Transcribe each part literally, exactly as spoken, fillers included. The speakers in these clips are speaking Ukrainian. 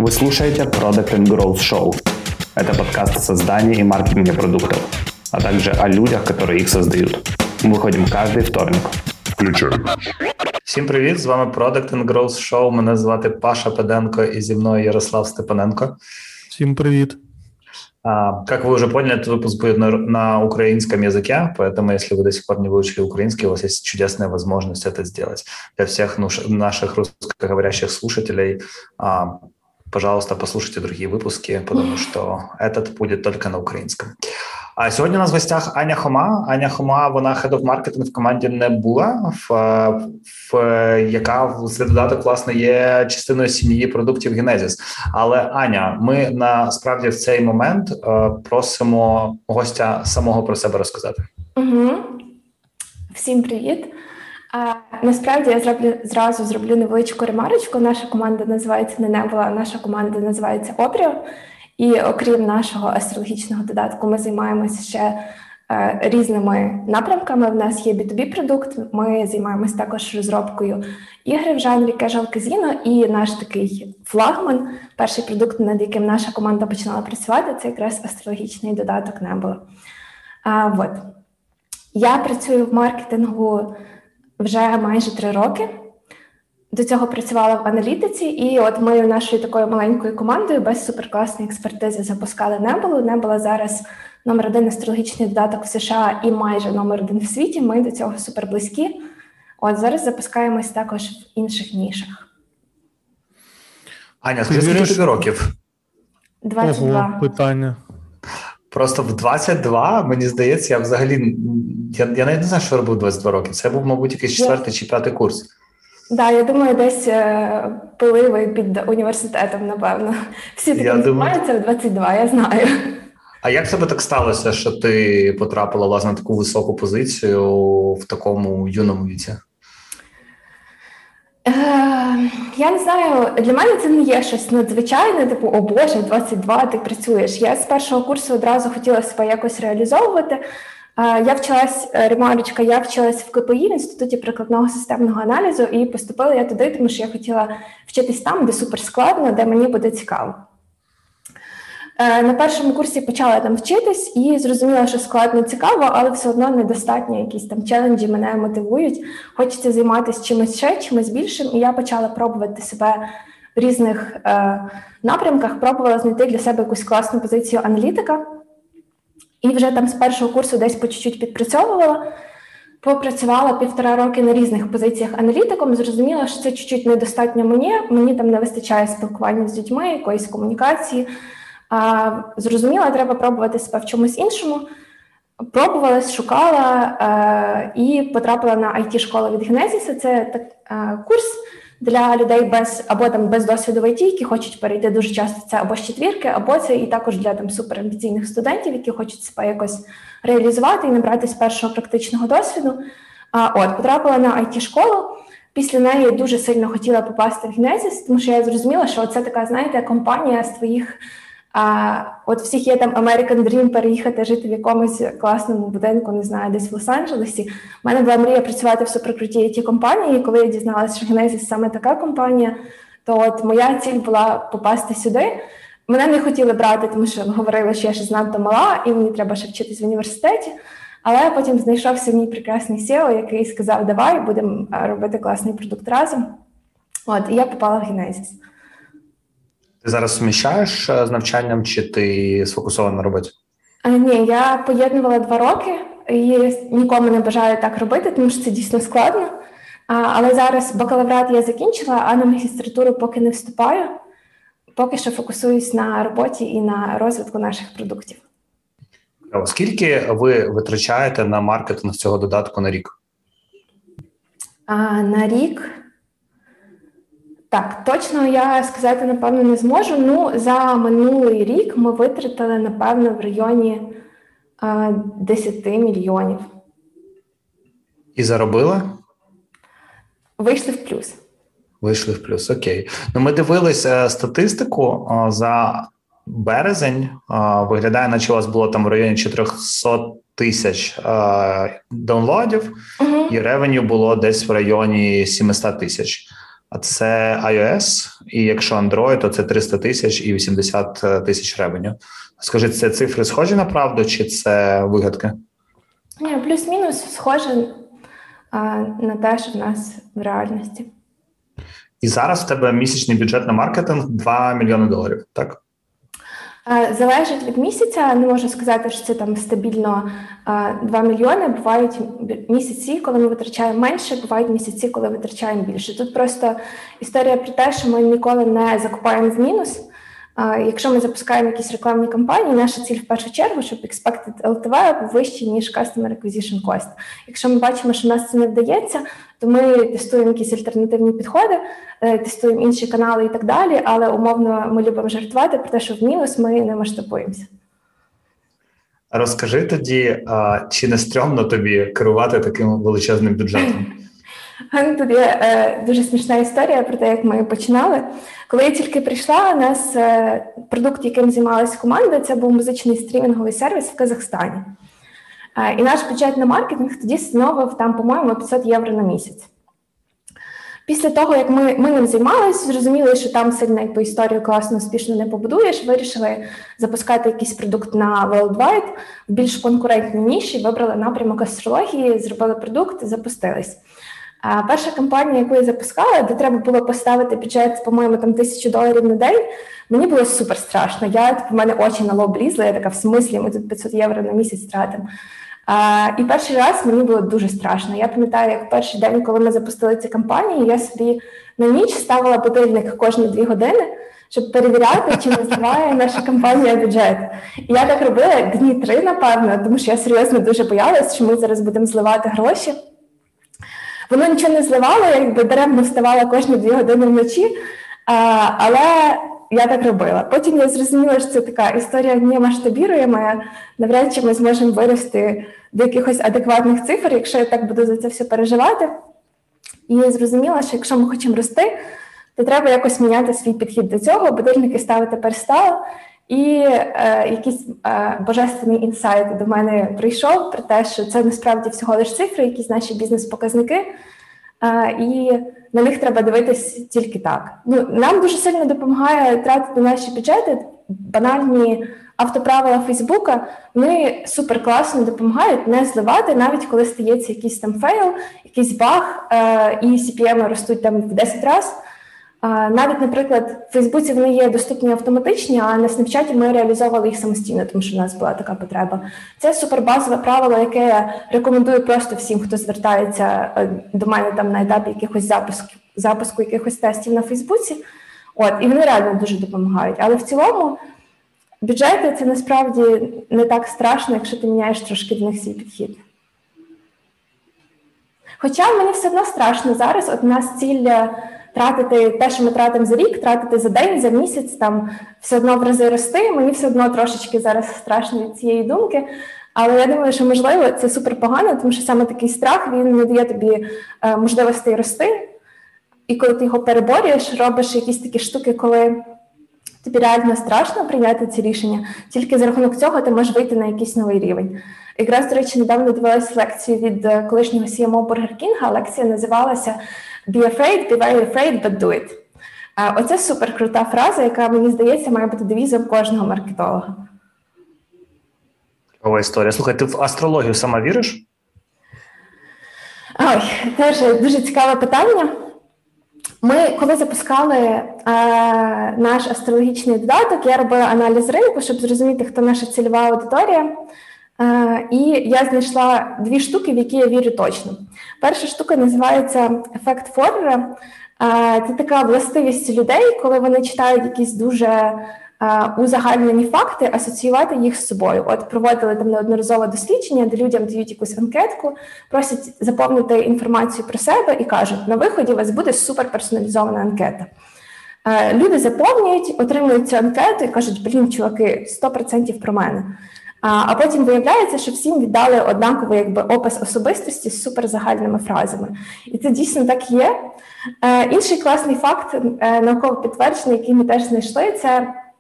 Вы слушаете Product and Growth Show. Это подкаст о создании и маркетинге продуктов, а также о людях, которые их создают. Мы выходим каждый вторник. Включаем. Всім привіт, з вами Product and Growth Show. Мене звати Паша Педенко і зі мною Ярослав Степаненко. Всем привет. А, как вы уже поняли, этот выпуск будет на, на украинском языке, поэтому если вы до сих пор не выучили украинский, у вас есть чудесная возможность это сделать. Для всех нуш, наших русскоговорящих слушателей, а, пожалуйста, послушайте другие выпуски, потому что этот будет только на украинском. А сьогодні у нас в гостях Аня Хома. Аня Хома, вона Head of Marketing в команді Nebula, в, в, яка серед додаток, власне, є частиною сім'ї продуктів Genesis. Але, Аня, ми насправді в цей момент е, просимо гостя самого про себе розказати. Угу. Всім привіт. А, насправді я зроблю, зразу зроблю невеличку ремарочку. Наша команда називається не Nebula, а наша команда називається Обріо. І окрім нашого астрологічного додатку, ми займаємося ще е, різними напрямками. В нас є бі ту бі-продукт, ми займаємося також розробкою ігри в жанрі casual казино, і наш такий флагман, перший продукт, над яким наша команда починала працювати, це якраз астрологічний додаток Nebula. А, от. Я працюю в маркетингу вже майже три роки. До цього працювала в аналітиці, і от ми нашою такою маленькою командою без суперкласної експертизи запускали Nebula. Nebula зараз номер один астрологічний додаток в США і майже номер один в світі. Ми до цього суперблизькі. От зараз запускаємось також в інших нішах. Аня, скажи, скільки тобі років? двадцять два. Ого, питання. Просто в двадцять два, мені здається, я взагалі, я, я навіть не знаю, що робив двадцять два роки. Це був, мабуть, якийсь четвертий чи п'ятий курс. Так, да, я думаю, десь е, пили під університетом, напевно. Всі таким займаються в двадцять два, я знаю. А як тебе так сталося, що ти потрапила, власне, на таку високу позицію в такому юному віці? Е, я не знаю, для мене це не є щось надзвичайне, типу, о Боже, двадцять два, ти працюєш. Я з першого курсу одразу хотіла себе якось реалізовувати. Я вчилась, ремарочка, я вчилась в ка пе і, в Інституті прикладного системного аналізу, і поступила я туди, тому що я хотіла вчитись там, де суперскладно, де мені буде цікаво. На першому курсі почала там вчитись і зрозуміла, що складно цікаво, але все одно недостатньо, якісь там челенджі мене мотивують. Хочеться займатися чимось ще, чимось більшим, і я почала пробувати себе в різних е, напрямках, пробувала знайти для себе якусь класну позицію аналітика. І вже там з першого курсу десь по чуть-чуть підпрацьовувала, попрацювала півтора роки на різних позиціях аналітиком, зрозуміла, що це чуть-чуть недостатньо мені, мені там не вистачає спілкування з людьми, якоїсь комунікації. А, зрозуміла, треба пробувати себе в чомусь іншому. Пробувала, шукала а, і потрапила на ай ті-школу від Genesis. Це так, а, курс для людей без або там без досвіду в ай ті, які хочуть перейти дуже часто, це або з четвірки, або це і також для там суперамбіційних студентів, які хочуть себе якось реалізувати і набратись першого практичного досвіду. А, от, потрапила на ай ті-школу, після неї дуже сильно хотіла попасти в Genesis, тому що я зрозуміла, що це така, знаєте, компанія з твоїх, а, от всіх є там American Dream переїхати жити в якомусь класному будинку, не знаю, десь в Лос-Анджелесі. У мене була мрія працювати в суперкрутій ай ті-компанії, і коли я дізналася, що Genesis саме така компанія, то от моя ціль була попасти сюди. Мене не хотіли брати, тому що говорили, що я ще занадто мала, і мені треба ще вчитись в університеті. Але потім знайшовся мій прекрасний сі і о, який сказав, давай, будемо робити класний продукт разом. От, і я попала в Genesis. Ти зараз суміщаєш з навчанням, чи ти сфокусована на роботі? А, ні, я поєднувала два роки, і нікому не бажаю так робити, тому що це дійсно складно. А, але зараз бакалаврат я закінчила, а на магістратуру поки не вступаю. Поки що фокусуюсь на роботі і на розвитку наших продуктів. Скільки ви витрачаєте на маркетинг цього додатку на рік? А, на рік? Так, точно я сказати, напевно, не зможу. Ну, за минулий рік ми витратили, напевно, в районі а, десять мільйонів. І заробили? Вийшли в плюс. Вийшли в плюс, окей. Ну, ми дивилися статистику за березень. Виглядає, наче у вас було там в районі чотириста тисяч даунлодів, угу. І ревеню було десь в районі сімсот тисяч. а це iOS, і якщо Android, то це триста тисяч і вісімдесят тисяч ревеню. Скажи, це цифри схожі на правду, чи це вигадки? Ні, плюс-мінус схоже а, на те, що в нас в реальності. І зараз в тебе місячний бюджет на маркетинг два мільйони доларів, так? Залежить від місяця, не можу сказати, що це там стабільно два мільйони. Бувають місяці, коли ми витрачаємо менше, бувають місяці, коли витрачаємо більше. Тут просто історія про те, що ми ніколи не закупаємо в мінус. Якщо ми запускаємо якісь рекламні кампанії, наша ціль в першу чергу, щоб expected ел ті ві був вищий, ніж Customer Acquisition Cost. Якщо ми бачимо, що в нас це не вдається, то ми тестуємо якісь альтернативні підходи, тестуємо інші канали і так далі, але умовно ми любимо жартувати про те, що в мінус ми не масштабуємося. Розкажи тоді, чи не стрьомно тобі керувати таким величезним бюджетом? Тут є е, дуже смішна історія про те, як ми починали. Коли я тільки прийшла, у нас е, продукт, яким займалася команда, це був музичний стрімінговий сервіс в Казахстані. Е, і наш бюджет на маркетинг тоді становив там, по-моєму, п'ятсот євро на місяць. Після того, як ми, ми ним займалися, зрозуміли, що там сильно якби, історію класно, успішно не побудуєш, вирішили запускати якийсь продукт на Worldwide в більш конкурентній ніші, вибрали напрямок астрології, зробили продукт, запустились. А перша кампанія, яку я запускала, де треба було поставити бюджет, по-моєму, там тисячу доларів на день, мені було супер страшно. Я, типу, в мене очі на лоб лізли, я така, в смислі, ми тут п'ятсот євро на місяць тратимо. А, і перший раз мені було дуже страшно. Я пам'ятаю, як перший день, коли ми запустили ці кампанії, я собі на ніч ставила будильник кожні дві години, щоб перевіряти, чи не зливає наша компанія бюджет. І я так робила дні три, напевно, тому що я серйозно дуже боялась, що ми зараз будемо зливати гроші. Воно нічого не зливало, я якби даремно вставала кожні дві години вночі, а, але я так робила. Потім я зрозуміла, що це така історія не масштабіруєма, навряд чи ми зможемо вирости до якихось адекватних цифр, якщо я так буду за це все переживати. І я зрозуміла, що якщо ми хочемо рости, то треба якось міняти свій підхід до цього, будильники ставити перестала. І е, якийсь е, божественний інсайт до мене прийшов про те, що це насправді всього лише цифри, якісь наші бізнес-показники, е, і на них треба дивитись тільки так. Ну, нам дуже сильно допомагає тратити наші бюджети, банальні автоправила Фейсбука, вони супер класно допомагають не зливати, навіть коли стається якийсь там фейл, якийсь баг, е, і сі пі ем ростуть там в десять разів. Навіть, наприклад, в Фейсбуці вони є доступні автоматичні, а на Снапчаті ми реалізовували їх самостійно, тому що в нас була така потреба. Це супербазове правило, яке я рекомендую просто всім, хто звертається до мене там на етапі якихось запусків, запуску якихось тестів на Фейсбуці. От, і вони реально дуже допомагають. Але в цілому бюджети – це насправді не так страшно, якщо ти міняєш трошки до них свій підхід. Хоча мені все одно страшно зараз, от у нас ціль тратити те, що ми тратимо за рік, тратити за день, за місяць, там все одно в рази рости. Мені все одно трошечки зараз страшно від цієї думки. Але я думаю, що, можливо, це супер погано, тому що саме такий страх, він не дає тобі е, можливості рости. І коли ти його переборюєш, робиш якісь такі штуки, коли тобі реально страшно прийняти ці рішення, тільки за рахунок цього ти можеш вийти на якийсь новий рівень. Якраз, до речі, недавно дивилась лекцію від колишнього сі ем о Burger King. Лекція називалася «Be afraid, be very afraid, but do it». Оце супер крута фраза, яка, мені здається, має бути девізом кожного маркетолога. Ова історія. Слухай, ти в астрологію сама віриш? Ой, теж дуже цікаве питання. Ми, коли запускали е, наш астрологічний додаток, я робила аналіз ринку, щоб зрозуміти, хто наша цільова аудиторія. Е, і я знайшла дві штуки, в які я вірю точно. Перша штука називається ефект Форера. Е, це така властивість людей, коли вони читають якісь дуже е, узагальнені факти, асоціювати їх з собою. От проводили там неодноразове дослідження, де людям дають якусь анкетку, просять заповнити інформацію про себе і кажуть, на виході у вас буде суперперсоналізована анкета. Е, люди заповнюють, отримують цю анкету і кажуть, блін, чуваки, сто відсотків про мене. А потім виявляється, що всім віддали однаковий якби, опис особистості з суперзагальними фразами. І це дійсно так є. Е, інший класний факт, е, науково підтверджений, який ми теж знайшли, це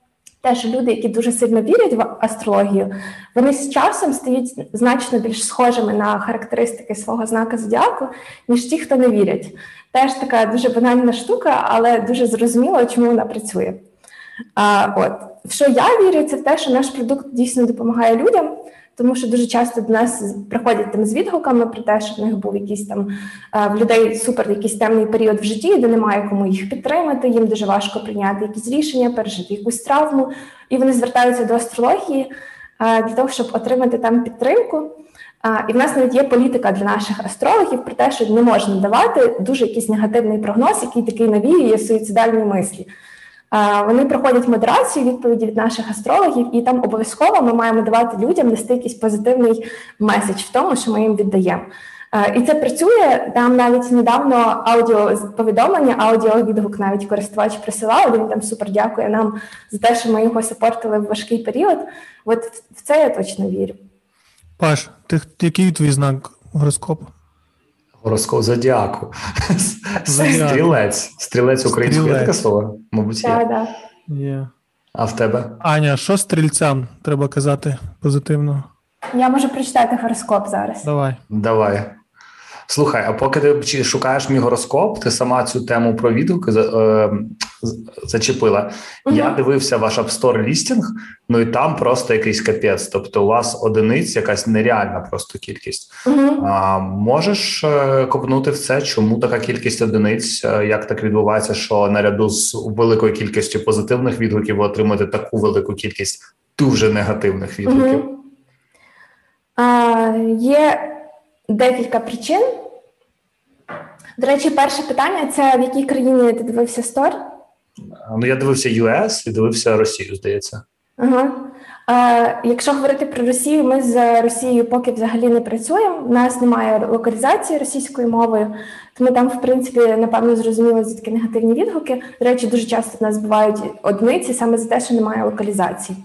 теж люди, які дуже сильно вірять в астрологію, вони з часом стають значно більш схожими на характеристики свого знака зодіаку, ніж ті, хто не вірять. Теж така дуже банальна штука, але дуже зрозуміло, чому вона працює. А, от. В що я вірю, це в те, що наш продукт дійсно допомагає людям, тому що дуже часто до нас приходять там з відгуками про те, що в них був якийсь там в людей супер якийсь темний період в житті, де немає кому їх підтримати, їм дуже важко прийняти якісь рішення, пережити якусь травму, і вони звертаються до астрології для того, щоб отримати там підтримку. І в нас навіть є політика для наших астрологів про те, що не можна давати дуже якийсь негативний прогноз, який такий навіює суїцидальні мислі. Вони проходять модерацію, відповіді від наших астрологів, і там обов'язково ми маємо давати людям нести якийсь позитивний меседж в тому, що ми їм віддаємо. І це працює. Там навіть недавно аудіоповідомлення, аудіовідгук навіть користувач присилав, він там супер дякує нам за те, що ми його сапортили в важкий період. От в це я точно вірю. Паш, ти, який твій знак гороскопу? Гороскоп зодіаку. Зодіаку. Стрілець. Стрілець українською є таке слово? Мабуть, є. Так, так. Є. А в тебе? Аня, що стрільцям треба казати позитивно? Я можу прочитати гороскоп зараз. Давай. Давай. Слухай, а поки ти шукаєш мій гороскоп, ти сама цю тему про відгуки е, зачепила. Угу. Я дивився ваш App Store лістінг, ну і там просто якийсь капець. Тобто у вас одиниць якась нереальна просто кількість. Угу. А, можеш е, копнути в це, чому така кількість одиниць, як так відбувається, що наряду з великою кількістю позитивних відгуків ви отримуєте таку велику кількість дуже негативних відгуків? Угу. А, є декілька причин. До речі, перше питання – це в якій країні ти дивився стор? Ну, я дивився ю ес і дивився Росію, здається. Ага. Е, якщо говорити про Росію, ми з Росією поки взагалі не працюємо. У нас немає локалізації російською мовою, тому там, в принципі, напевно, зрозуміло, звідки негативні відгуки. До речі, дуже часто в нас бувають одиниці саме за те, що немає локалізації.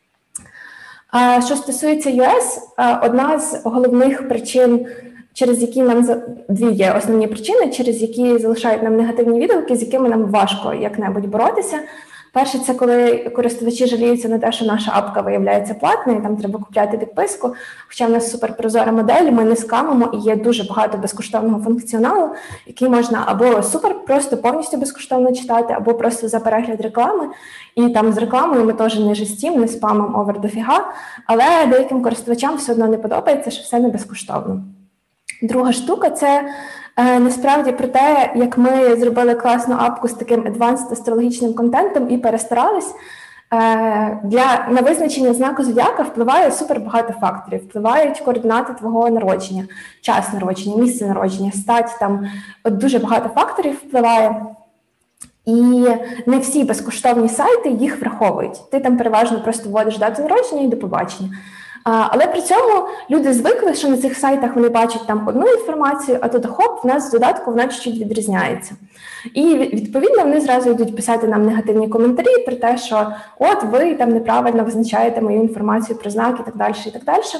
А що стосується ю ес, одна з головних причин, через які нам дві є основні причини, через які залишають нам негативні відгуки, з якими нам важко як-небудь боротися. Перше, це коли користувачі жаліються на те, що наша апка виявляється платною, там треба купляти підписку, хоча в нас суперпрозора модель, ми не скамимо і є дуже багато безкоштовного функціоналу, який можна або супер просто повністю безкоштовно читати, або просто за перегляд реклами. І там з рекламою ми теж не жестім, не спамом овер дофіга, але деяким користувачам все одно не подобається, що все не безкоштовно. Друга штука – це е, насправді про те, як ми зробили класну апку з таким advanced астрологічним контентом і перестарались. Е, для, на визначення знаку зодіака впливає супер багато факторів. Впливають координати твого народження, час народження, місце народження, стать, там от дуже багато факторів впливає. І не всі безкоштовні сайти їх враховують. Ти там переважно просто вводиш дату народження і до побачення. А, але при цьому люди звикли, що на цих сайтах вони бачать там одну інформацію, а тут хоп, в нас з додатку вона чуть-чуть відрізняється. І відповідно вони зразу йдуть писати нам негативні коментарі про те, що от ви там неправильно визначаєте мою інформацію про знак і так далі, і так далі.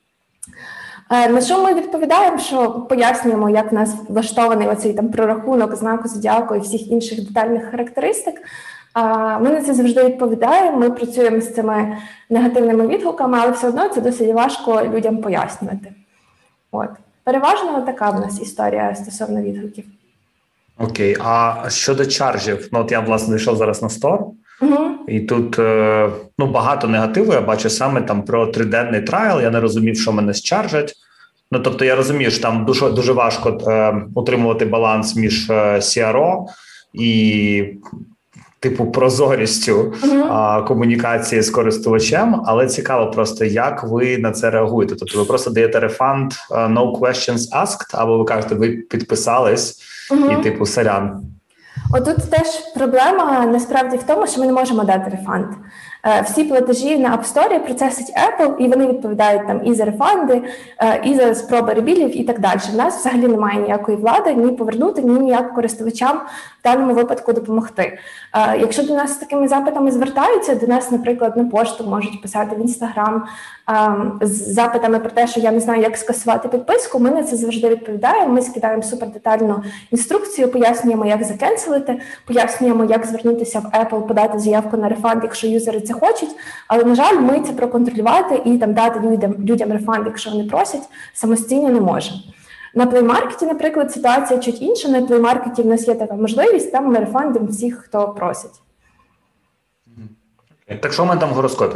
На що ми відповідаємо, що пояснюємо, як в нас влаштований оцей там прорахунок знаку зодіаку і всіх інших детальних характеристик. Ми на це завжди відповідаємо, ми працюємо з цими негативними відгуками, але все одно це досить важко людям пояснювати. От. Переважно така в нас історія стосовно відгуків. Окей, а щодо чаржів, ну от я, власне, зайшов зараз на стор, угу. і тут ну, багато негативу, я бачу саме там про триденний трайл, я не розумів, що мене счаржать. Ну, тобто я розумію, що там дуже, дуже важко е, утримувати баланс між е, сі ар о і типу прозорістю uh-huh. а, комунікації з користувачем, але цікаво просто, як ви на це реагуєте. Тобто ви просто даєте рефанд uh, no questions asked, або ви кажете, ви підписались uh-huh. і типу сорян. Отут теж проблема насправді в тому, що ми не можемо дати рефанд. Всі платежі на App Store процесить Apple, і вони відповідають там і за рефанди, і за спроби ребілів і так далі. У нас взагалі немає ніякої влади ні повернути, ні ніяк користувачам в даному випадку допомогти. Якщо до нас з такими запитами звертаються, до нас, наприклад, на пошту можуть писати в Instagram з запитами про те, що я не знаю, як скасувати підписку, ми на це завжди відповідаємо, ми скидаємо супердетальну інструкцію, пояснюємо, як закенселити, пояснюємо, як звернутися в Apple, подати заявку на рефанд, якщо юзери це це хочуть, але, на жаль, ми це проконтролювати і там дати людям, людям рефанд, якщо вони просять, самостійно не можемо. На плеймаркеті, наприклад, ситуація чуть інша. На плеймаркеті в нас є така можливість, там ми рефандимо всіх, хто просить. Так що в мене там в гороскопі?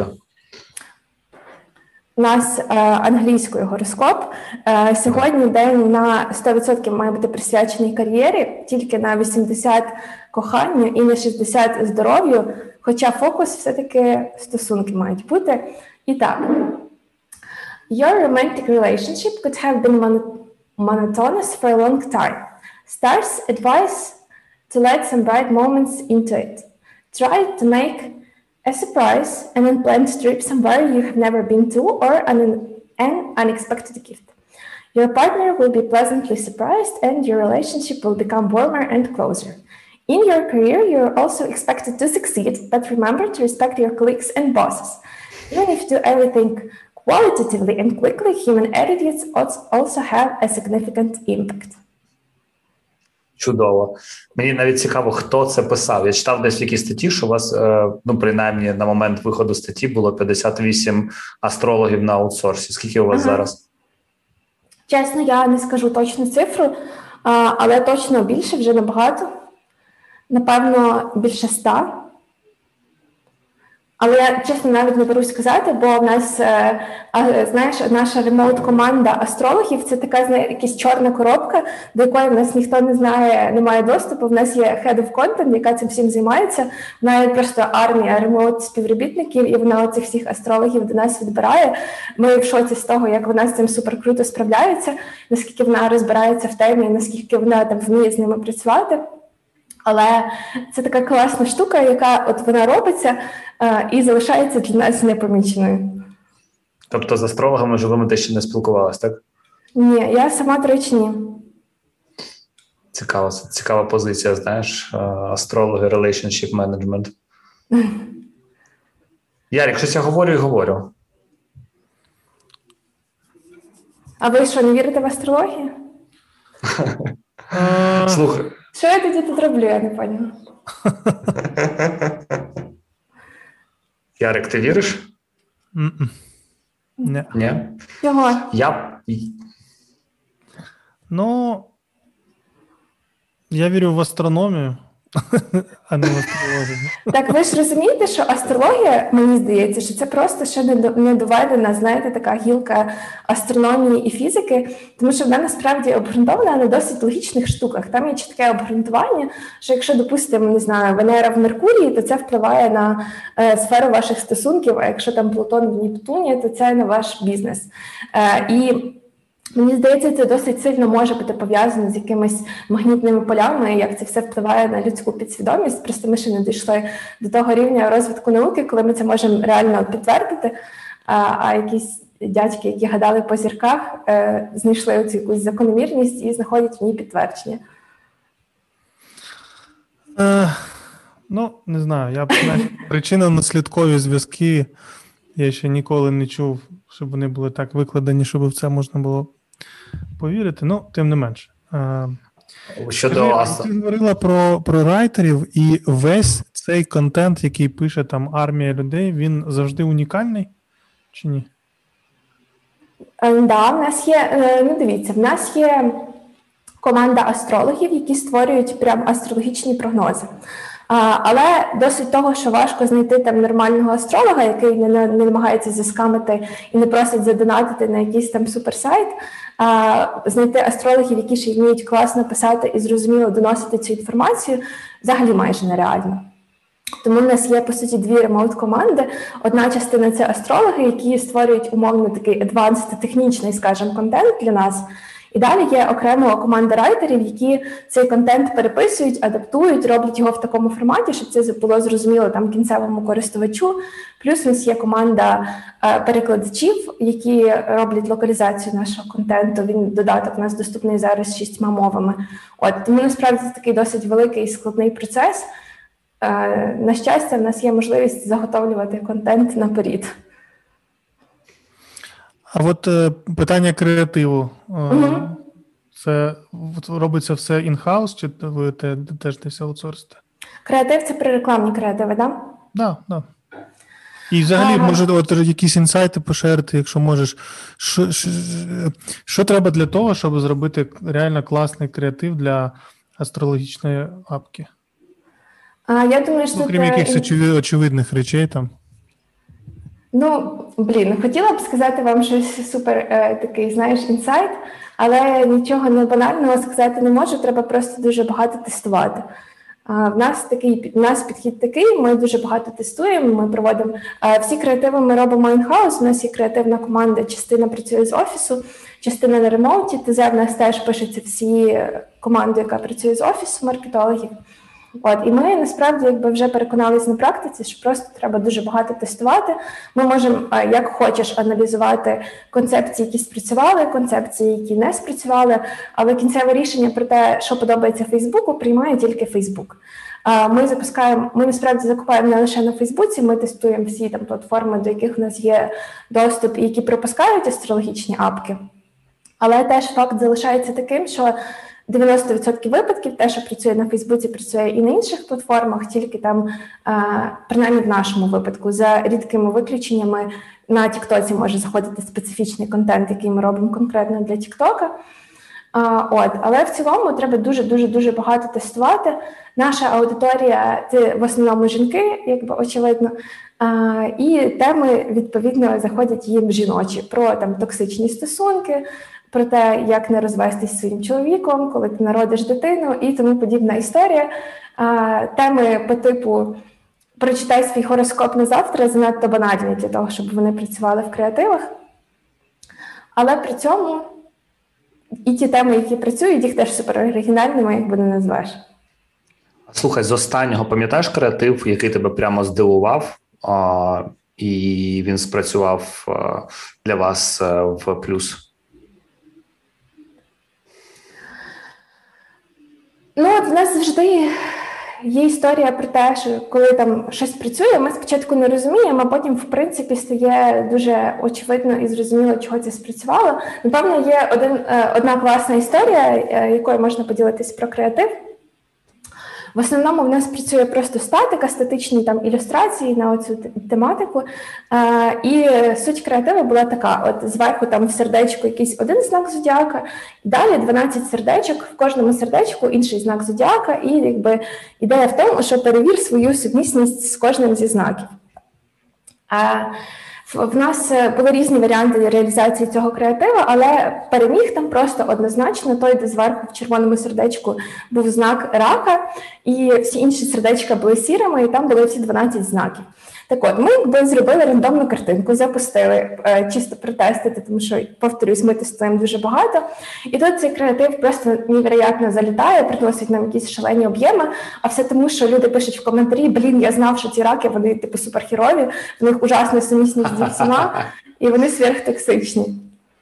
У нас е, англійською гороскоп. Е, сьогодні день на сто відсотків має бути присвячений кар'єрі, тільки на вісімдесят коханню і на шістдесят здоров'ю, хоча фокус все-таки стосунки мають бути. І так. Your romantic relationship could have been mon- monotonous for a long time. Stars advise to let some bright moments into it. Try to make a surprise and unplanned trip somewhere you have never been to, or an, an unexpected gift. Your partner will be pleasantly surprised and your relationship will become warmer and closer. In your career, you're also expected to succeed, but remember to respect your colleagues and bosses. Even if you do everything qualitatively and quickly, human attitudes also have a significant impact. Чудово. Мені навіть цікаво, хто це писав. Я читав десь в якійсь статті, що у вас, ну, принаймні, на момент виходу статті було п'ятдесят вісім астрологів на аутсорсі. Скільки у вас ага. зараз? Чесно, я не скажу точну цифру, але точно більше, вже набагато. Напевно, більше ста. Але я, чесно, навіть не берусь сказати, бо в нас, знаєш, наша ремоут-команда астрологів – це така, знаєш, якась чорна коробка, до якої в нас ніхто не знає, не має доступу. В нас є head of content, яка цим всім займається. Вона є просто армія ремоут-співробітників, і вона оцих всіх астрологів до нас відбирає. Ми в шоці з того, як вона з цим супер круто справляється, наскільки вона розбирається в темі, наскільки вона там вміє з ними працювати. Але це така класна штука, яка от вона робиться е, і залишається для нас непоміченою. Тобто з астрологами живими ти ще не спілкувалась, так? Ні, я сама, до речі, ні. Цікава, цікава позиція, знаєш, астрологи, relationship management. Ярик, щось я говорю і говорю. А ви що, не вірите в астрологію? Слухай. Що я тоді тут роблю, я не поняла. Ярик, ти віриш? Ні. Ні? Чого? Я... Ну, я вірю в астрономію, а не в астрологію. Так ви ж розумієте, що астрологія, мені здається, що це просто ще не доведена, знаєте, така гілка астрономії і фізики, тому що вона насправді обґрунтована на досить логічних штуках. Там є чітке обґрунтування, що якщо, допустимо, не знаю, Венера в Меркурії, то це впливає на е, сферу ваших стосунків, а якщо там Плутон в Нептуні, то це на ваш бізнес. Е, і Мені здається, це досить сильно може бути пов'язано з якимись магнітними полями, як це все впливає на людську підсвідомість. Просто ми ще не дійшли до того рівня розвитку науки, коли ми це можемо реально підтвердити, а, а якісь дядьки, які гадали по зірках, е, знайшли оцю якусь закономірність і знаходять в ній підтвердження. Е, ну, не знаю, я причинно-наслідкові зв'язки я ще ніколи не чув, щоб вони були так викладені, щоб в це можна було повірити. Ну, тим не менше. Щодо... Ти говорила про, про райтерів, і весь цей контент, який пише там армія людей, він завжди унікальний чи ні? Так, да, в нас є, ну дивіться, в нас є команда астрологів, які створюють прям астрологічні прогнози. А, але досить того, що важко знайти там нормального астролога, який не, не, не намагається заскамити і не просить задонатити на якийсь там суперсайт, а знайти астрологів, які ще вміють класно писати і зрозуміло доносити цю інформацію, взагалі майже нереально. Тому в нас є, по суті, дві ремоут-команди. Одна частина – це астрологи, які створюють умовно такий advanced, технічний, скажімо, контент для нас. І далі є окрема команда райтерів, які цей контент переписують, адаптують, роблять його в такому форматі, щоб це було зрозуміло там кінцевому користувачу. Плюс у нас є команда е, перекладачів, які роблять локалізацію нашого контенту. Він додаток у нас доступний зараз шістьма мовами. От, тому насправді це такий досить великий і складний процес. Е, на щастя, в нас є можливість заготовлювати контент наперед. А от е, питання креативу. Е, угу. Це робиться все in-house, чи ви теж десь аутсорсите? Креатив – це при рекламні креативи, так? Да? Так, да, так. І взагалі, ага. може, от, якісь інсайти поширити, якщо можеш. Що, що, що треба для того, щоб зробити реально класний креатив для астрологічної апки? А, я думаю, що ну, крім це... якихось очевидних речей там. Ну, блін, хотіла б сказати вам щось супер е, такий, знаєш, інсайт, але нічого не банального сказати не можу, треба просто дуже багато тестувати. А, в нас такий, в нас підхід такий, ми дуже багато тестуємо, ми проводимо, а, всі креативи ми робимо in-house, у нас є креативна команда, частина працює з офісу, частина на ремоуті, ТЗ в нас теж пишеться всі команди, яка працює з офісу, маркетологів. От, і ми насправді якби вже переконалися на практиці, що просто треба дуже багато тестувати. Ми можемо, як хочеш, аналізувати концепції, які спрацювали, концепції, які не спрацювали, але кінцеве рішення про те, що подобається Фейсбуку, приймає тільки Фейсбук. Ми запускаємо, ми насправді закупаємо не лише на Фейсбуці, ми тестуємо всі там платформи, до яких у нас є доступ і які пропускають астрологічні апки. Але теж факт залишається таким, що дев'яносто відсотків випадків те, що працює на Фейсбуці, працює і на інших платформах, тільки там, принаймні в нашому випадку, за рідкими виключеннями, на Тіктоці може заходити специфічний контент, який ми робимо конкретно для Тіктока. От, але в цілому треба дуже-дуже-дуже багато тестувати. Наша аудиторія – це в основному жінки, якби очевидно, і теми, відповідно, заходять їм жіночі про там токсичні стосунки, про те, як не розвестись зі своїм чоловіком, коли ти народиш дитину і тому подібна історія. Теми по типу «Прочитай свій гороскоп на завтра» занадто банальні для того, щоб вони працювали в креативах. Але при цьому і ті теми, які працюють, їх теж супер оригінальними, якби не назвеш. Слухай, з останнього пам'ятаєш креатив, який тебе прямо здивував, а, і він спрацював а, для вас а, в плюс? Ну, от в нас завжди є історія про те, що коли там щось працює, ми спочатку не розуміємо, а потім, в принципі, стає дуже очевидно і зрозуміло, чого це спрацювало. Напевно, є один, одна класна історія, якою можна поділитись про креатив. В основному в нас працює просто статика, статичні там ілюстрації на оцю тематику. А, і суть креативу була така: от зверху там в сердечку якийсь один знак зодіака, далі дванадцять сердечок, в кожному сердечку інший знак зодіака, і якби ідея в тому, що перевір свою сумісність з кожним зі знаків. А, в нас були різні варіанти реалізації цього креатива, але переміг там просто однозначно той, де зверху в червоному сердечку був знак рака, і всі інші сердечка були сірими, і там були всі дванадцять знаків. Так от, ми якби зробили рандомну картинку, запустили, е, чисто протестити, тому що, повторюсь, ми тестуємо дуже багато. І тут цей креатив просто невероятно залітає, приносить нам якісь шалені об'єми, а все тому, що люди пишуть в коментарі: блін, я знав, що ці раки, вони типу суперхерові, в них ужасна сумісність зі всіма, і вони сверхтоксичні.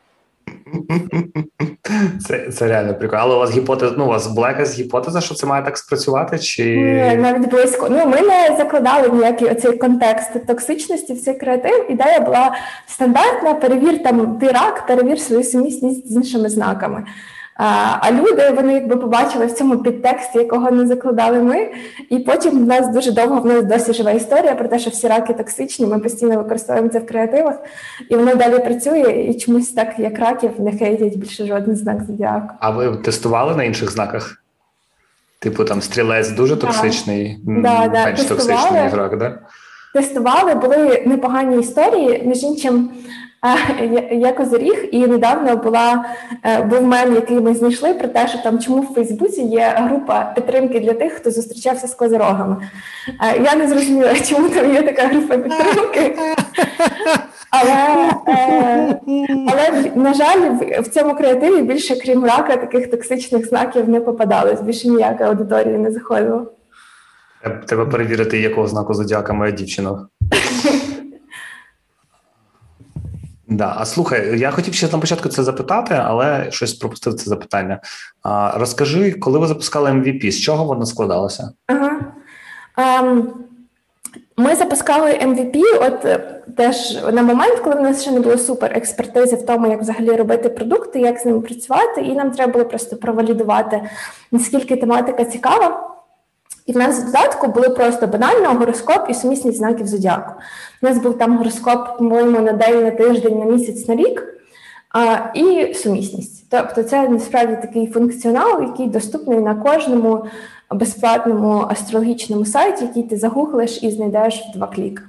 Це, це реально прикольно. Але у вас гіпотеза, ну, у вас була якась гіпотеза, що це має так спрацювати? Чи... Ні, навіть близько. Ну, ми не закладали ніякий оцей контекст токсичності в цей креатив. Ідея була стандартна: перевір там ти рак, перевір свою сумісність з іншими знаками. А, а люди, вони якби побачили в цьому підтекст, якого не закладали ми, і потім в нас дуже довго, в нас досі жива історія про те, що всі раки токсичні, ми постійно використовуємо це в креативах, і воно далі працює, і чомусь так, як раків, не хейтять більше жоден знак зодіаку. А ви тестували на інших знаках? Типу там стрілець дуже токсичний, да, да, менш токсичний, ніж рак, да? Тестували, були непогані історії, між іншим, я козиріг, і недавно була, був мем, який ми знайшли, про те, що там чому в Фейсбуці є група підтримки для тих, хто зустрічався з козирогами. Я не зрозуміла, чому там є така група підтримки. Але, але, на жаль, в цьому креативі більше, крім рака, таких токсичних знаків не попадалось. Більше ніяка аудиторія не заходила. Треба перевірити, якого знаку зодіака моя дівчина. Да. А слухай, я хотів ще на початку це запитати, але щось пропустив це запитання. А, розкажи, коли ви запускали ем ві пі, з чого воно складалося? Ага. Um, ми запускали ем ві пі от теж на момент, коли в нас ще не було супер експертизи в тому, як взагалі робити продукти, як з ними працювати, і нам треба було просто провалідувати, наскільки тематика цікава. І в нас в додатку були просто банально гороскоп і сумісність знаків зодіаку. У нас був там гороскоп, по-моєму, на день, на тиждень, на місяць, на рік, а, і сумісність. Тобто це насправді такий функціонал, який доступний на кожному безплатному астрологічному сайті, який ти загуглиш і знайдеш в два кліки.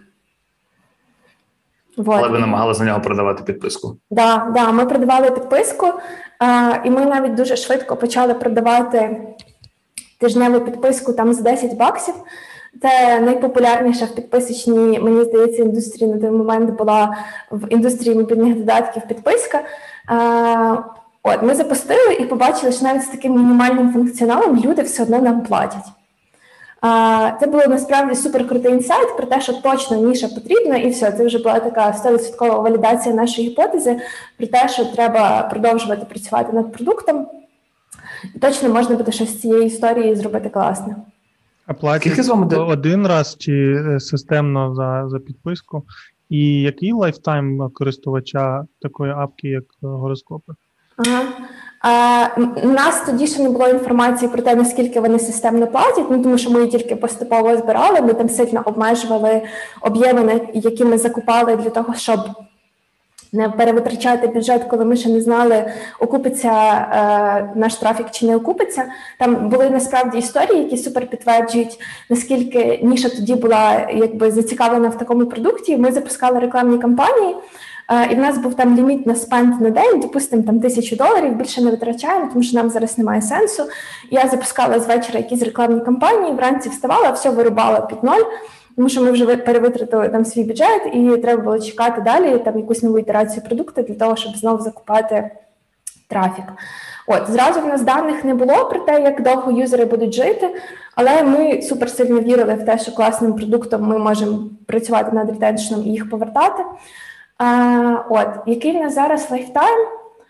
Вот. Але ви намагалися на нього продавати підписку? Так, да, да, ми продавали підписку, а, і ми навіть дуже швидко почали продавати тижневу підписку там за десять баксів. Це найпопулярніша в підписочній, мені здається, індустрії на той момент була в індустрії мобільних додатків підписка. А, от, ми запустили і побачили, що навіть з таким мінімальним функціоналом люди все одно нам платять. А, це було насправді суперкрутий інсайт про те, що точно ніша потрібна, і все, це вже була така сто відсотків валідація нашої гіпотези про те, що треба продовжувати працювати над продуктом. І точно можна буде щось з цієї історії зробити класно. А платять один раз чи системно за, за підписку? І який лайфтайм користувача такої апки, як гороскопи? Ага. А, у нас тоді ще не було інформації про те, наскільки вони системно платять, ну, тому що ми її тільки поступово збирали, ми там сильно обмежували об'єми, які ми закупали для того, щоб не перевитрачати бюджет, коли ми ще не знали, окупиться е, наш трафік чи не окупиться. Там були насправді історії, які супер підтверджують, наскільки ніша тоді була якби зацікавлена в такому продукті. Ми запускали рекламні кампанії, е, і в нас був там ліміт на спенд на день, допустимо, там тисячу доларів, більше не витрачаємо, тому що нам зараз немає сенсу. Я запускала з вечора якісь рекламні кампанії, вранці вставала, все вирубала під ноль, тому що ми вже перевитратили там свій бюджет, і треба було чекати далі там якусь нову ітерацію продукту для того, щоб знову закупати трафік. От, зразу в нас даних не було про те, як довго юзери будуть жити, але ми супер сильно вірили в те, що класним продуктом ми можемо працювати над ретеншеном і їх повертати. А, от, який в нас зараз лайфтайм?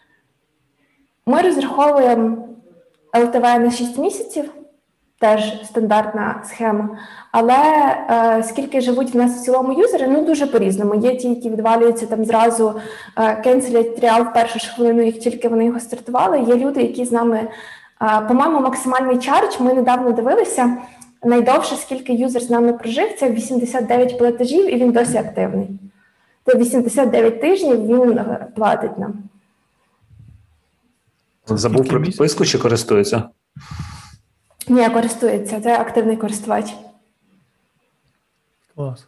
Ми розраховуємо ел те ве на шість місяців, теж стандартна схема, але е, скільки живуть в нас в цілому юзери, ну дуже по-різному. Є ті, які відвалюються там зразу, е, кенселять тріал в першу ж хвилину, як тільки вони його стартували. Є люди, які з нами, е, по-моєму, максимальний чардж, ми недавно дивилися, найдовше, скільки юзер з нами прожив, це вісімдесят дев'ять платежів, і він досі активний. Це вісімдесят дев'ять тижнів він платить нам. Забув про підписку чи користується? Ні, користується. Це активний користувач. Клас.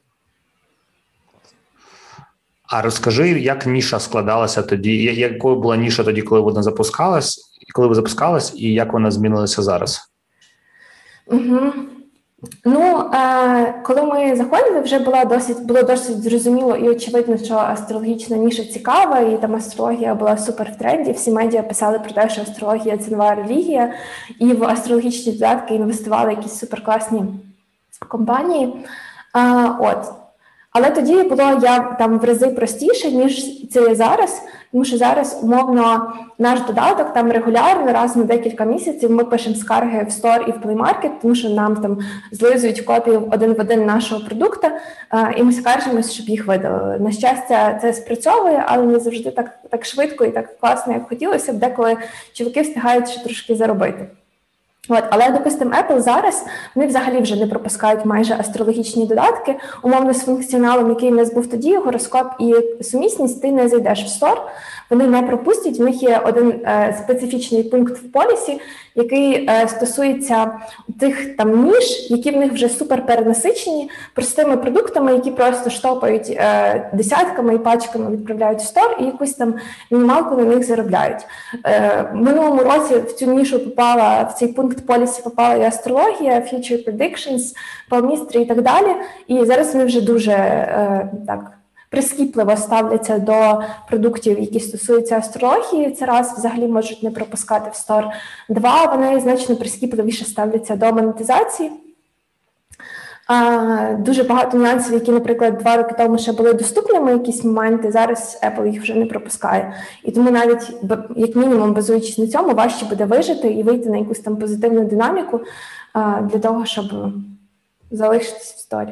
А розкажи, як ніша складалася тоді, якою була ніша тоді, коли вона запускалась, коли ви запускалась, і як вона змінилася зараз? Угу. Ну, е, коли ми заходили, вже була досить, було досить зрозуміло і очевидно, що астрологічна ніша цікава, і там астрологія була супер в тренді. Всі медіа писали про те, що астрологія – це нова релігія, і в астрологічні додатки інвестували якісь суперкласні компанії. Е, от. Але тоді було я там в рази простіше, ніж це є зараз, тому що зараз, умовно, наш додаток там регулярно, раз на декілька місяців ми пишемо скарги в Store і в Play Market, тому що нам там злизують копію один в один нашого продукту, і ми скаржимося, щоб їх видалили. На щастя, це спрацьовує, але не завжди так, так швидко і так класно, як хотілося б, деколи чоловіки встигають ще трошки заробити. От, але, допустимо, Apple зараз, вони взагалі вже не пропускають майже астрологічні додатки. Умовно, з функціоналом, який у нас був тоді, гороскоп і сумісність, ти не зайдеш в Store, вони не пропустять. В них є один е, специфічний пункт в полісі, який е, стосується тих там ніж, які в них вже супер перенасичені простими продуктами, які просто штопають е, десятками і пачками відправляють в Store і якусь там мінімалку на них заробляють. Е, в минулому році в цю нішу попала, в цей пункт полісі попала і астрологія, future predictions, palmistry і так далі. І зараз вони вже дуже е, так прискіпливо ставляться до продуктів, які стосуються астрології. Це раз, взагалі можуть не пропускати в Store. Два, вони значно прискіпливіше ставляться до монетизації. А, дуже багато нюансів, які, наприклад, два роки тому ще були доступними якісь моменти, зараз Apple їх вже не пропускає. І тому навіть, як мінімум, базуючись на цьому, важче буде вижити і вийти на якусь там позитивну динаміку а, для того, щоб залишитись в Store.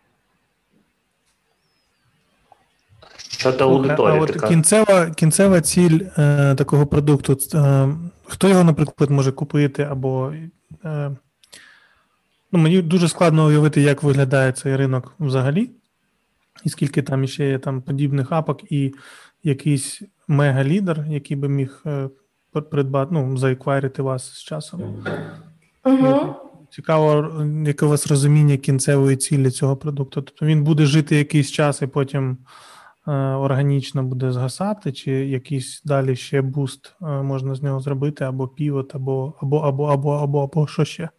Щодо аудиторії. А от кінцева, кінцева ціль е, такого продукту, е, хто його, наприклад, може купити або е, Ну, мені дуже складно уявити, як виглядає цей ринок взагалі, і скільки там ще є там подібних апок, і якийсь мега-лідер, який би міг е, придбати, ну, заеквайрити вас з часом. Угу. Цікаво, яке у вас розуміння кінцевої цілі цього продукту. Тобто він буде жити якийсь час і потім е, органічно буде згасати, чи якийсь далі ще буст е, можна з нього зробити, або півот, або, або, або, або, або, або що ще?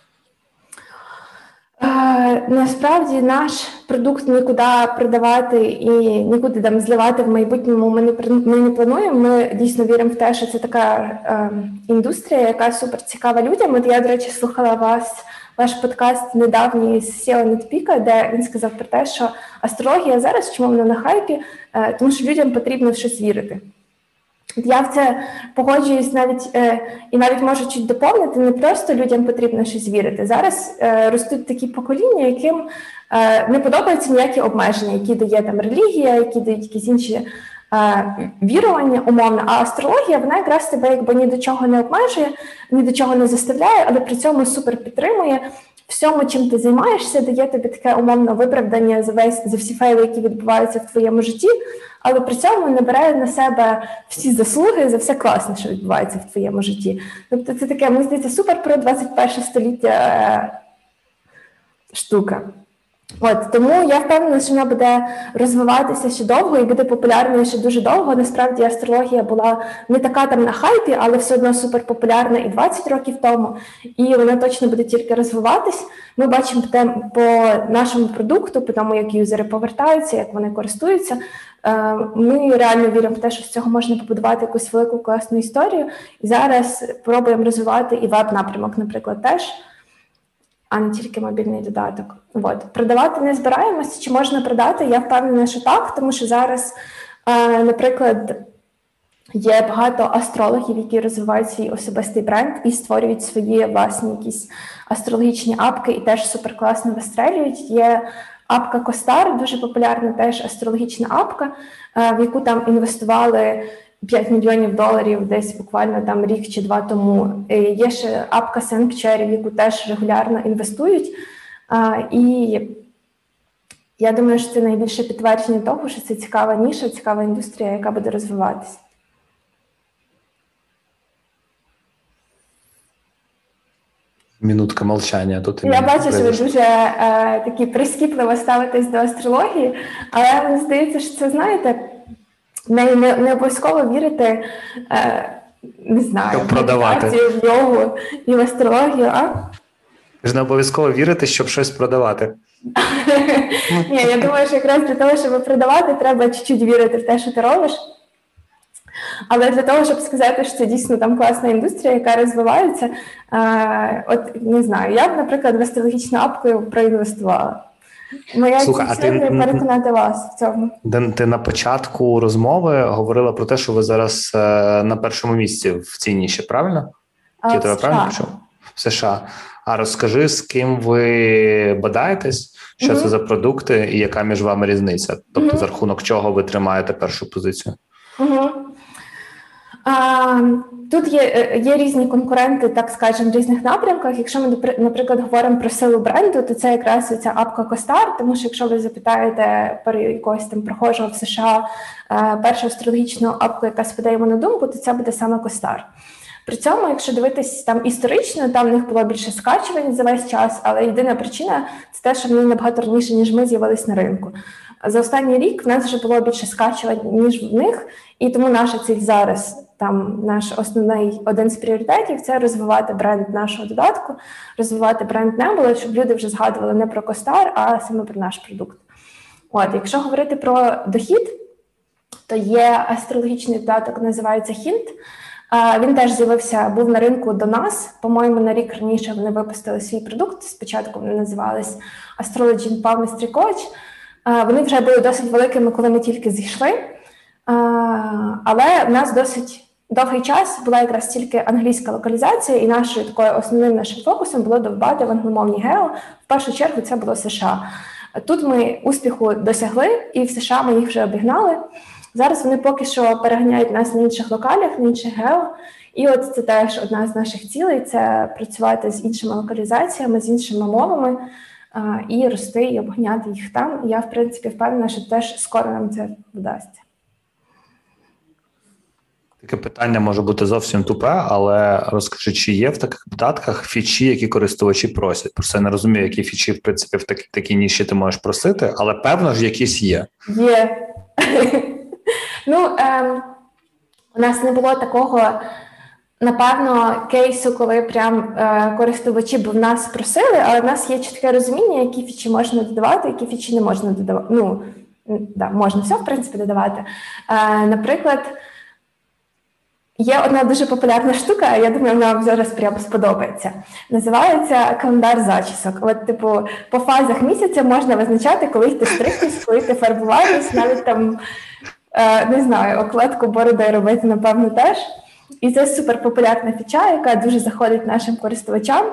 Е, насправді наш продукт нікуди продавати і нікуди там зливати в майбутньому ми не, ми не плануємо. Ми дійсно віримо в те, що це така е, індустрія, яка супер цікава людям. От я, до речі, слухала вас, ваш подкаст недавній з сео Нетпіка, де він сказав про те, що астрологія зараз, чому вона на хайпі, е, тому що людям потрібно в щось вірити. Я в це погоджуюсь навіть е, і навіть можу чуть доповнити, не просто людям потрібно щось вірити. Зараз е, ростуть такі покоління, яким е, не подобаються ніякі обмеження, які дає там релігія, які дають якісь інші е, вірування умовно. А астрологія, вона якраз тебе якби ні до чого не обмежує, ні до чого не заставляє, але при цьому супер підтримує всьому, чим ти займаєшся, дає тобі таке умовне виправдання за весь за всі фейли, які відбуваються в твоєму житті, але при цьому не бере на себе всі заслуги за все класне, що відбувається в твоєму житті. Тобто це таке, мені здається, супер про двадцять перше століття е, штука. От, тому я впевнена, що вона буде розвиватися ще довго і буде популярною ще дуже довго. Насправді астрологія була не така там на хайпі, але все одно суперпопулярна і двадцять років тому, і вона точно буде тільки розвиватись. Ми бачимо по нашому продукту, по тому, як юзери повертаються, як вони користуються. Ми реально віримо в те, що з цього можна побудувати якусь велику класну історію. І зараз пробуємо розвивати і веб-напрямок, наприклад, теж, а не тільки мобільний додаток. От. Продавати не збираємося, чи можна продати? Я впевнена, що так, тому що зараз, е, наприклад, є багато астрологів, які розвивають свій особистий бренд і створюють свої власні якісь астрологічні апки і теж суперкласно вистрелюють. Є апка Костар, дуже популярна теж астрологічна апка, е, в яку там інвестували п'ять мільйонів доларів десь буквально там рік чи два тому. Є ще апка Sanctuary, в яку теж регулярно інвестують. А, і я думаю, що це найбільше підтвердження того, що це цікава ніша, цікава індустрія, яка буде розвиватися. Минутка молчання. Тут я бачу, що ви дуже е, такі прискіпливо ставитесь до астрології, але мені здається, що це, знаєте, Не, не, не обов'язково вірити, е, не знаю, в медитацію, в йогу і в астрологію, а? Ви ж не обов'язково вірити, щоб щось продавати. Ні, я думаю, що якраз для того, щоб продавати, треба чуть-чуть вірити в те, що ти робиш. Але для того, щоб сказати, що це дійсно там класна індустрія, яка розвивається, е, от, не знаю, я б, наприклад, в астрологічну апку проінвестувала. Моя Слухай, а ти переконати вас в цьому. Ти на початку розмови говорила про те, що ви зараз е, на першому місці в цій ніші, правильно? А, Я тебе правильно почув? В США. А розкажи, з ким ви бодаєтесь, що mm-hmm. це за продукти і яка між вами різниця? Тобто, mm-hmm. за рахунок чого ви тримаєте першу позицію? Mm-hmm. А, тут є, є різні конкуренти, так скажемо, в різних напрямках. Якщо ми, наприклад, говоримо про силу бренду, то це якраз ця апка Костар, тому що якщо ви запитаєте про якогось там прохожого в США першу астрологічну апку, яка спадає йому на думку, то це буде саме Костар. При цьому, якщо дивитись там історично, там в них було більше скачувань за весь час, але єдина причина – це те, що вони набагато раніше, ніж ми, з'явились на ринку. За останній рік в нас вже було більше скачувань, ніж в них, і тому наша ціль зараз, там наш основний один з пріоритетів – це розвивати бренд нашого додатку, розвивати бренд Nebula, щоб люди вже згадували не про Костар, а саме про наш продукт. От, якщо говорити про дохід, то є астрологічний додаток, називається Hint. Він теж з'явився, був на ринку до нас, по-моєму, на рік раніше вони випустили свій продукт, спочатку вони називались Astrology and Palmistry Coach. Вони вже були досить великими, коли ми тільки зійшли, але в нас досить довгий час була якраз тільки англійська локалізація, і нашою такою основним нашим фокусом було довбати в англомовні гео. В першу чергу це було США. Тут ми успіху досягли, і в США ми їх вже обігнали. Зараз вони поки що переганяють нас на інших локалях, на інших гео, І от це теж одна з наших цілей – це працювати з іншими локалізаціями, з іншими мовами а, і рости, і обганяти їх там. І я, в принципі, впевнена, що теж скоро нам це вдасться. Таке питання може бути зовсім тупе, але розкажи, чи є в таких додатках фічі, які користувачі просять? Просто я не розумію, які фічі, в принципі, в такій, такій ніші ти можеш просити, але певно ж якісь є. Є. Ну, ем, у нас не було такого, напевно, кейсу, коли прям е, користувачі б в нас просили, але в нас є чітке розуміння, які фічі можна додавати, які фічі не можна додавати. Ну, да, можна все, в принципі, додавати. Е, наприклад, є одна дуже популярна штука, я думаю, вона вам зараз прямо сподобається. Називається календар зачісок. От, типу, по фазах місяця можна визначати, коли ти стригтись, коли ти фарбуватись, навіть там, е, не знаю, окладку бороди робити, напевно, теж. І це суперпопулярна фіча, яка дуже заходить нашим користувачам,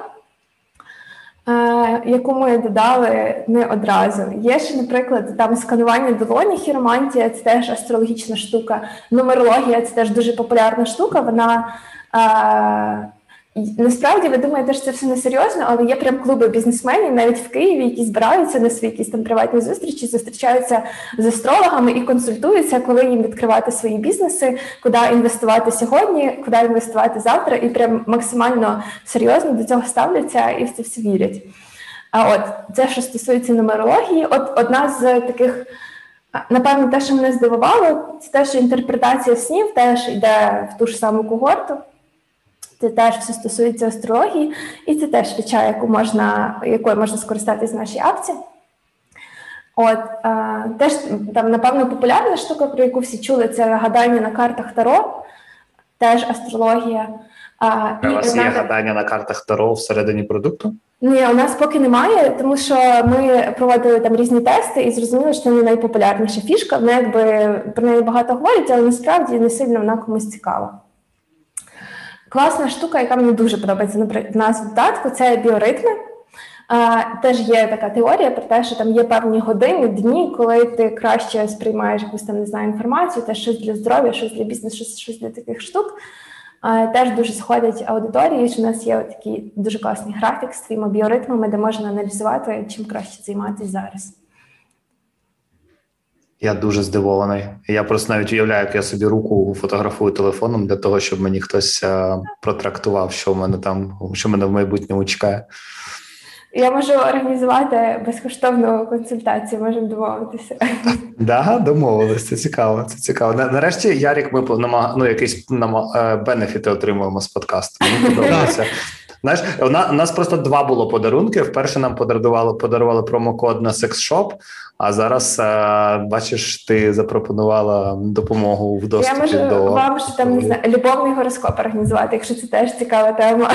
е, яку ми додали не одразу. Є ще, наприклад, там сканування долоні, хіромантія, це теж астрологічна штука. Нумерологія – це теж дуже популярна штука. Вона, е, насправді, ви думаєте, що це все несерйозно, але є прям клуби бізнесменів, навіть в Києві, які збираються на свої якісь там приватні зустрічі, зустрічаються з астрологами і консультуються, коли їм відкривати свої бізнеси, куди інвестувати сьогодні, куди інвестувати завтра, і прям максимально серйозно до цього ставляться і в це все вірять. А от це, що стосується нумерології, от одна з таких, напевно, те, що мене здивувало, це те, що інтерпретація снів теж йде в ту ж саму когорту. Це теж все стосується астрології, і це теж фіча, яку можна, якою можна скористатись в нашій апці. От, а, теж, там, напевно, популярна штука, про яку всі чули, це гадання на картах Таро, теж астрологія. А, У і вас одна... є гадання на картах Таро всередині продукту? Ні, у нас поки немає, тому що ми проводили там різні тести і зрозуміли, що це не найпопулярніша фішка. Вона якби про неї багато говорять, але насправді не сильно вона комусь цікава. Класна штука, яка мені дуже подобається в нас в додатку, це біоритми. А, теж є така теорія про те, що там є певні години, дні, коли ти краще сприймаєш якусь там, не знаю, інформацію, теж щось для здоров'я, щось для бізнесу, щось, щось для таких штук. А, теж дуже сходять аудиторії, що в нас є такий дуже класний графік з твоїми біоритмами, де можна аналізувати, чим краще займатися зараз. Я дуже здивований. Я просто навіть уявляю, як я собі руку фотографую телефоном для того, щоб мені хтось а, протрактував, що в мене там, що мене в майбутньому чекає. Я можу організувати безкоштовну консультацію, можемо домовитися. Да, домовились, це цікаво, це цікаво. Нарешті, Ярік, ми ну, якісь бенефіти отримуємо з подкасту. Мені подобається. Знаєш, у нас, у нас просто два було подарунки. Вперше нам подарували, подарували промокод на секс-шоп, а зараз, а, бачиш, ти запропонувала допомогу в доступі до... Я можу до... вам ще там, не знаю, любовний гороскоп організувати, якщо це теж цікава тема.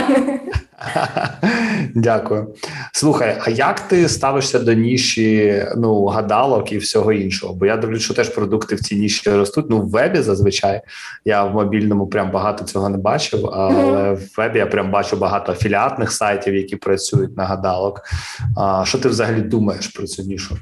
Дякую. Слухай, а як ти ставишся до ніші, ну, гадалок і всього іншого? Бо я дивлюсь, що теж продукти в цій ніші ростуть. Ну, в вебі зазвичай. Я в мобільному прям багато цього не бачив, але mm-hmm. в вебі я прям бачу багато афіліатних сайтів, які працюють на гадалок. А, що ти взагалі думаєш про цю нішу?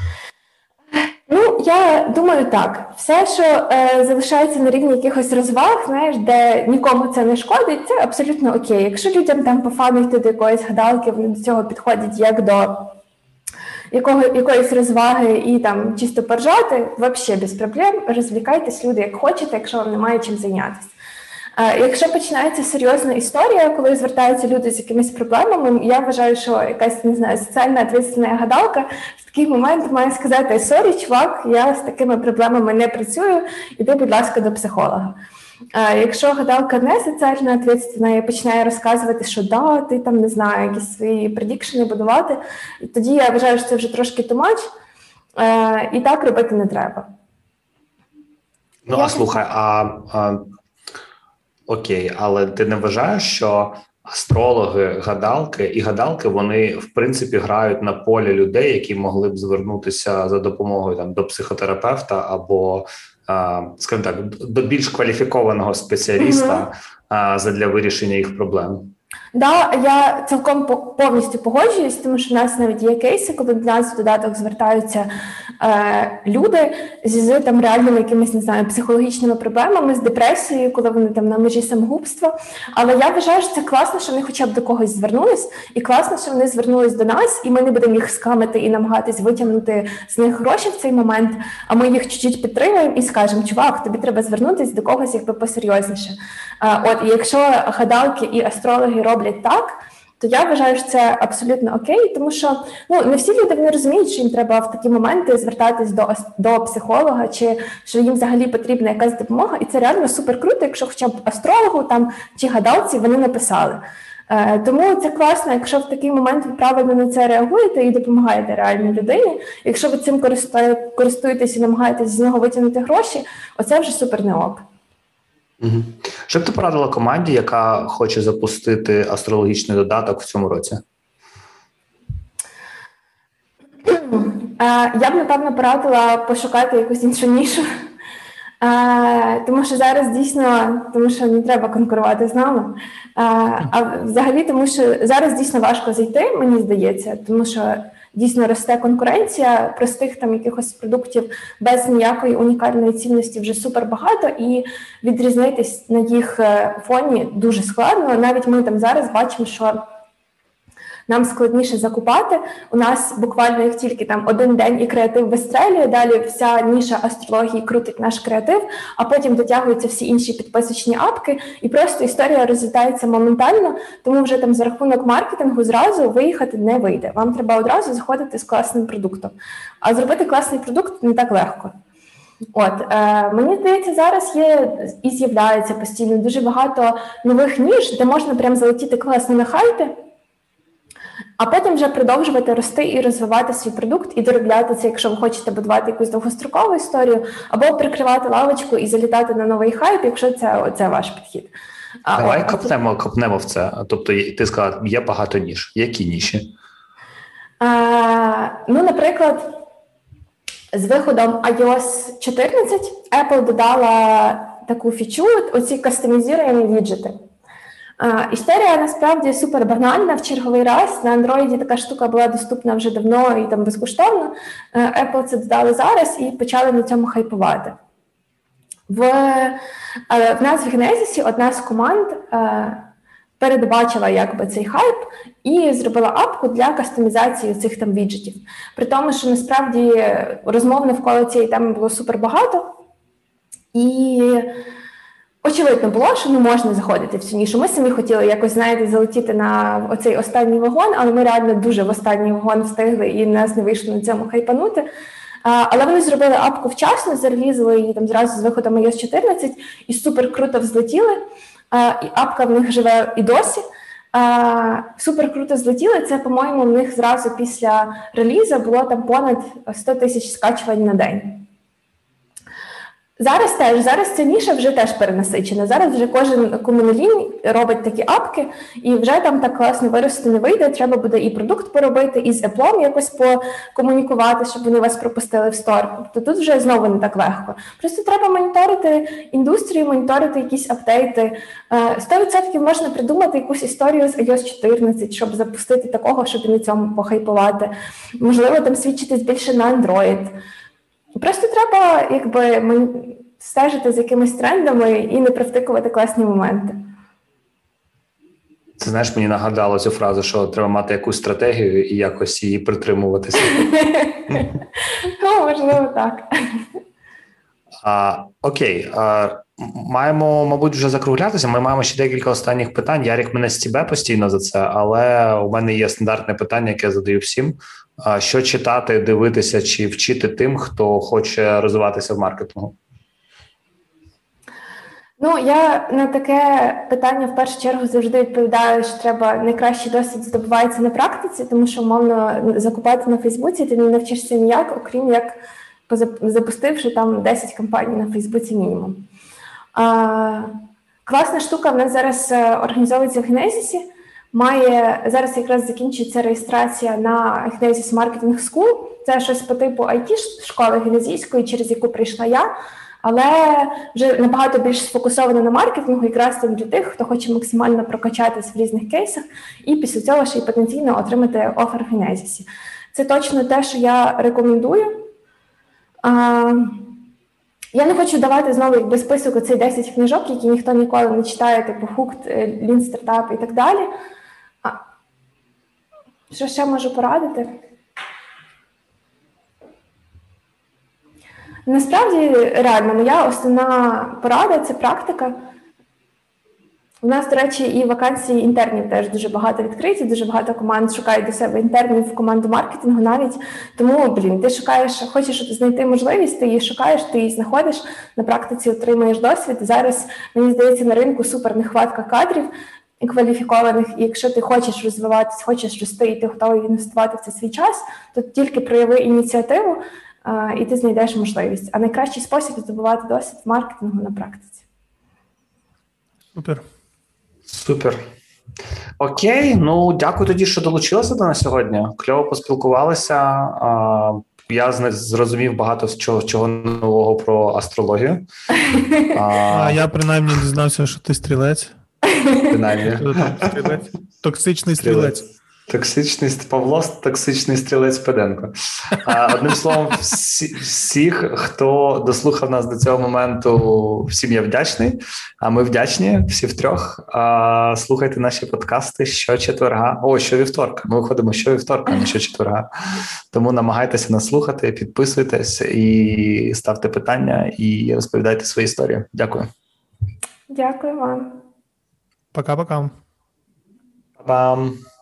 Ну, я думаю так. Все, що е, залишається на рівні якихось розваг, знаєш, де нікому це не шкодить, це абсолютно окей. Якщо людям там по фану йти до якоїсь гадалки, вони до цього підходять як до якого, якоїсь розваги і там чисто поржати, взагалі без проблем, розвлікайтесь, люди, як хочете, якщо вам немає чим зайнятися. Е, якщо починається серйозна історія, коли звертаються люди з якимись проблемами, я вважаю, що якась, не знаю, соціальна відповідальна гадалка в такий момент має сказати: сорі, чувак, я з такими проблемами не працюю, іди, будь ласка, до психолога. Е, якщо гадалка не соціально відповідальна і починає розказувати, що да, ти там, не знаю, якісь свої предікшени будувати, тоді я вважаю, що це вже трошки too much, е, і так робити не треба. Ну, я... а слухай, а... а... Окей, але ти не вважаєш, що астрологи, гадалки і гадалки, вони, в принципі, грають на полі людей, які могли б звернутися за допомогою там до психотерапевта або, а, скажімо так, до більш кваліфікованого спеціаліста mm-hmm. а, задля вирішення їх проблем? Да, я цілком повністю погоджуюсь, тому що в нас навіть є кейси, коли до нас в додаток звертаються е, люди з там реальними якимись, не знаю, психологічними проблемами, з депресією, коли вони там на межі самогубства. Але я вважаю, що це класно, що вони хоча б до когось звернулись, і класно, що вони звернулись до нас, і ми не будемо їх скамити і намагатись витягнути з них гроші в цей момент, а ми їх чуть-чуть підтримуємо і скажемо, чувак, тобі треба звернутися до когось якби посерйозніше. Е, от, і якщо гадалки і астрологи роблять так, то я вважаю, що це абсолютно окей, тому що ну, не всі люди не розуміють, що їм треба в такі моменти звертатись до, до психолога, чи що їм взагалі потрібна якась допомога, і це реально супер круто, якщо хоча б астрологу там, чи гадалці вони написали. Е, тому це класно, якщо в такий момент ви правильно на це реагуєте і допомагаєте реальній людині. Якщо ви цим користуєтесь і намагаєтесь з нього витягнути гроші, оце вже супер не ок. Угу. Що б ти порадила команді, яка хоче запустити астрологічний додаток в цьому році? Я б, напевно, порадила пошукати якусь іншу нішу. Тому що зараз дійсно, тому що не треба конкурувати з нами. А взагалі, тому що зараз дійсно важко зайти, мені здається, тому що дійсно росте конкуренція, простих там якихось продуктів без ніякої унікальної цінності вже супер багато, і відрізнитись на їх фоні дуже складно. Навіть ми там зараз бачимо, що нам складніше закупати. У нас буквально як тільки там один день і креатив вистрелює, далі вся ніша астрології крутить наш креатив, а потім дотягуються всі інші підписочні апки, і просто історія розлітається моментально, тому вже там за рахунок маркетингу зразу виїхати не вийде. Вам треба одразу заходити з класним продуктом. А зробити класний продукт не так легко. От, е, мені здається, зараз є і з'являється постійно дуже багато нових ніж, де можна прям залетіти класно на хайпі, а потім вже продовжувати рости і розвивати свій продукт, і доробляти це, якщо ви хочете будувати якусь довгострокову історію, або прикривати лавочку і залітати на новий хайп, якщо це, це ваш підхід. Давай а, копнемо, копнемо в це. Тобто ти сказала, є багато ніж. Які ніші? А, ну, наприклад, з виходом ай о ес чотирнадцять Apple додала таку фічу, оці кастомізуємо віджити. Uh, історія насправді супер банальна в черговий раз. На Android така штука була доступна вже давно і там безкоштовно. Uh, Apple це додали зараз і почали на цьому хайпувати. В, uh, в нас в Genesis одна з команд uh, передбачила якби цей хайп і зробила апку для кастомізації цих там віджитів. При тому, що насправді розмов навколо цієї теми було супер багато. І очевидно було, що не можна заходити в цю нішу. Ми самі хотіли якось, знаєте, залетіти на оцей останній вагон, але ми реально дуже в останній вагон встигли і нас не вийшло на цьому хайпанути. А, але вони зробили апку вчасно, зарелізили її там зразу з виходом ай о ес чотирнадцять і супер круто взлетіли. А, і апка в них живе і досі. А, супер круто злетіли. Це, по-моєму, в них зразу після релізу було там понад сто тисяч скачувань на день. Зараз теж, зараз ця ніша вже теж перенасичена. Зараз вже кожен комунолінь робить такі апки, і вже там так класно вирости не вийде. Треба буде і продукт поробити, і з Apple якось покомунікувати, щоб вони вас пропустили в стор. Тобто тут вже знову не так легко. Просто треба моніторити індустрію, моніторити якісь апдейти. сто відсотків можна придумати якусь історію з ай о ес чотирнадцять, щоб запустити такого, щоб і на цьому похайпувати. Можливо, там свідчитись більше на Android. Просто треба, якби, стежити з якимись трендами і не провтикувати класні моменти. Це, знаєш, мені нагадало цю фразу, що треба мати якусь стратегію і якось її притримуватися. Ну, можливо, так. А, окей. А, маємо, мабуть, вже закруглятися. Ми маємо ще декілька останніх питань. Ярик мене стібе постійно за це, але у мене є стандартне питання, яке я задаю всім. А, що читати, дивитися чи вчити тим, хто хоче розвиватися в маркетингу? Ну, я на таке питання в першу чергу завжди відповідаю, що треба найкращий досвід здобувається на практиці, тому що, умовно, закупати на Фейсбуці ти не навчишся ніяк, окрім як запустивши там десять кампаній на Фейсбуці мінімум. А, класна штука в нас зараз організовується в Genesis. Має, зараз якраз закінчується реєстрація на Genesis Marketing School. Це щось по типу ай ті-школи генезійської, через яку прийшла я. але вже набагато більш сфокусована на маркетингу, якраз там для тих, хто хоче максимально прокачатись в різних кейсах і після цього ще й потенційно отримати офер в Genesys. Це точно те, що я рекомендую. А, я не хочу давати знову якби список оцей десять книжок, які ніхто ніколи не читає, типу Hooked, Lean Startup і так далі. А, що ще можу порадити? Насправді, реально, моя основна порада – це практика. У нас, до речі, і вакансії інтернів теж дуже багато відкриті, дуже багато команд шукають до себе інтернів в команду маркетингу навіть. Тому, блін, ти шукаєш, хочеш знайти можливість, ти її шукаєш, ти її знаходиш, на практиці отримуєш досвід. Зараз, мені здається, на ринку супер нехватка кадрів кваліфікованих, і якщо ти хочеш розвиватись, хочеш рости, і ти готовий інвестувати в це свій час, то тільки прояви ініціативу, і ти знайдеш можливість. А найкращий спосіб здобувати досвід в маркетингу на практиці. Супер. Супер. Окей, ну дякую тоді, що долучилася до нас сьогодні. Кльово поспілкувалися. Я зрозумів багато чого, чого нового про астрологію. А я принаймні дізнався, що ти стрілець. Принаймні. Стрілець. Токсичний стрілець. Токсичний Павло, токсичний стрілець Педенко. А, одним словом, всі, всіх, хто дослухав нас до цього моменту, всім я вдячний. А ми вдячні всі втрьох. А, слухайте наші подкасти щочетверга. О, щовівторка. Ми виходимо щовівторка, а не щочетверга. Тому намагайтеся нас слухати, підписуйтесь і ставте питання, і розповідайте свої історії. Дякую. Дякую вам. Пока-пока. Па-пам.